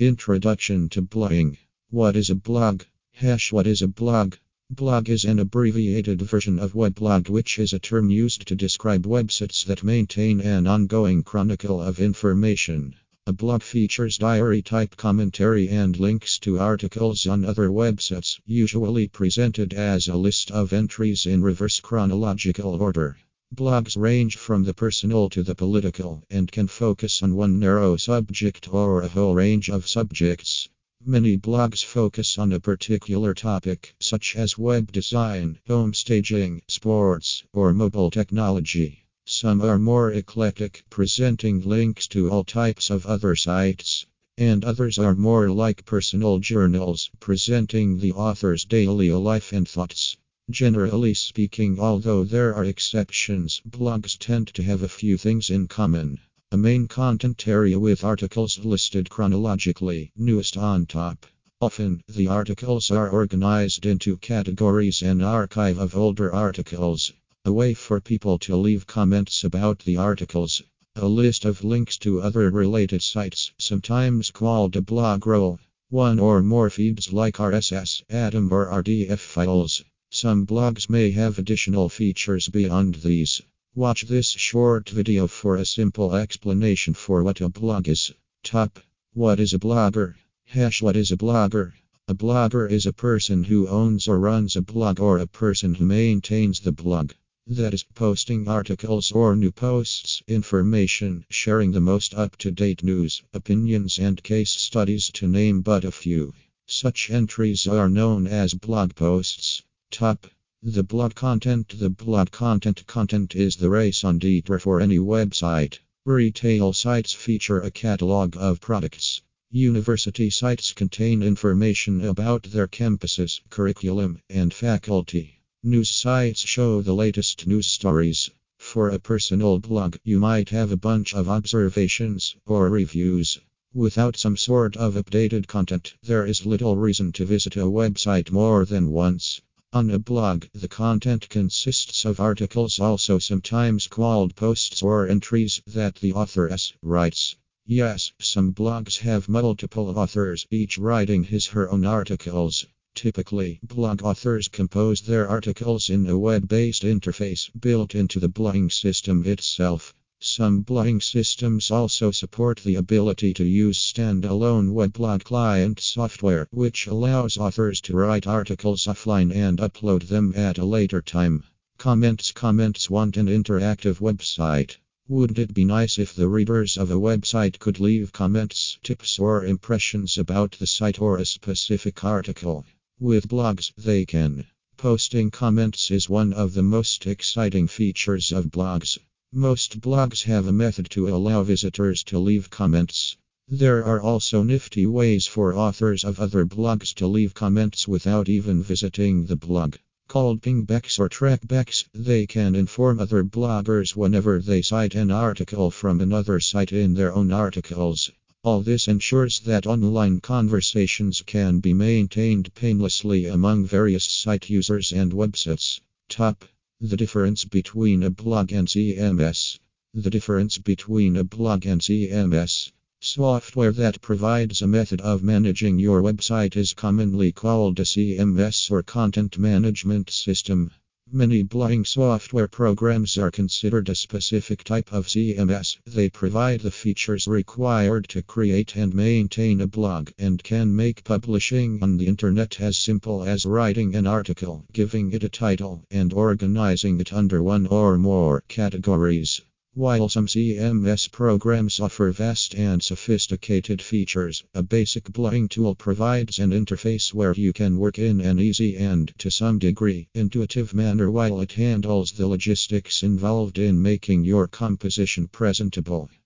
Introduction to blogging. What is a blog? What is a blog? Blog is an abbreviated version of weblog, which is a term used to describe websites that maintain an ongoing chronicle of information. A blog features diary-type commentary and links to articles on other websites, usually presented as a list of entries in reverse chronological order. Blogs range from the personal to the political and can focus on one narrow subject or a whole range of subjects. Many blogs focus on a particular topic, such as web design, home staging, sports, or mobile technology. Some are more eclectic, presenting links to all types of other sites, and others are more like personal journals, presenting the author's daily life and thoughts. Generally speaking, although there are exceptions, blogs tend to have a few things in common. A main content area with articles listed chronologically, newest on top. Often, the articles are organized into categories, an archive of older articles. A way for people to leave comments about the articles. A list of links to other related sites, sometimes called a blog roll. One or more feeds like RSS, Atom, or RDF files. Some blogs may have additional features beyond these. Watch this short video for a simple explanation for what a blog is. Top. What is a blogger? What is a blogger? A blogger is a person who owns or runs a blog, or a person who maintains the blog. That is, posting articles or new posts, information, sharing the most up-to-date news, opinions, and case studies, to name but a few. Such entries are known as blog posts. Top. The blog content. The blog content is the raison d'etre for any website. Retail sites feature a catalog of products. University sites contain information about their campuses, curriculum, and faculty. News sites show the latest news stories. For a personal blog, you might have a bunch of observations or reviews. Without some sort of updated content, there is little reason to visit a website more than once. On a blog, the content consists of articles, also sometimes called posts or entries, that the author writes. Yes, some blogs have multiple authors, each writing his or her own articles. Typically, blog authors compose their articles in a web-based interface built into the blogging system itself. Some blogging systems also support the ability to use standalone weblog client software, which allows authors to write articles offline and upload them at a later time. Comments want an interactive website. Wouldn't it be nice if the readers of a website could leave comments, tips, or impressions about the site or a specific article? With blogs, they can. Posting comments is one of the most exciting features of blogs. Most blogs have a method to allow visitors to leave comments. There are also nifty ways for authors of other blogs to leave comments without even visiting the blog. Called pingbacks or trackbacks, they can inform other bloggers whenever they cite an article from another site in their own articles. All this ensures that online conversations can be maintained painlessly among various site users and websites. Top. The difference between a blog and CMS. The difference between a blog and CMS. Software that provides a method of managing your website is commonly called a CMS, or content management system. Many blogging software programs are considered a specific type of CMS. They provide the features required to create and maintain a blog, and can make publishing on the internet as simple as writing an article, giving it a title, and organizing it under one or more categories. While some CMS programs offer vast and sophisticated features, a basic blogging tool provides an interface where you can work in an easy and, to some degree, intuitive manner while it handles the logistics involved in making your composition presentable.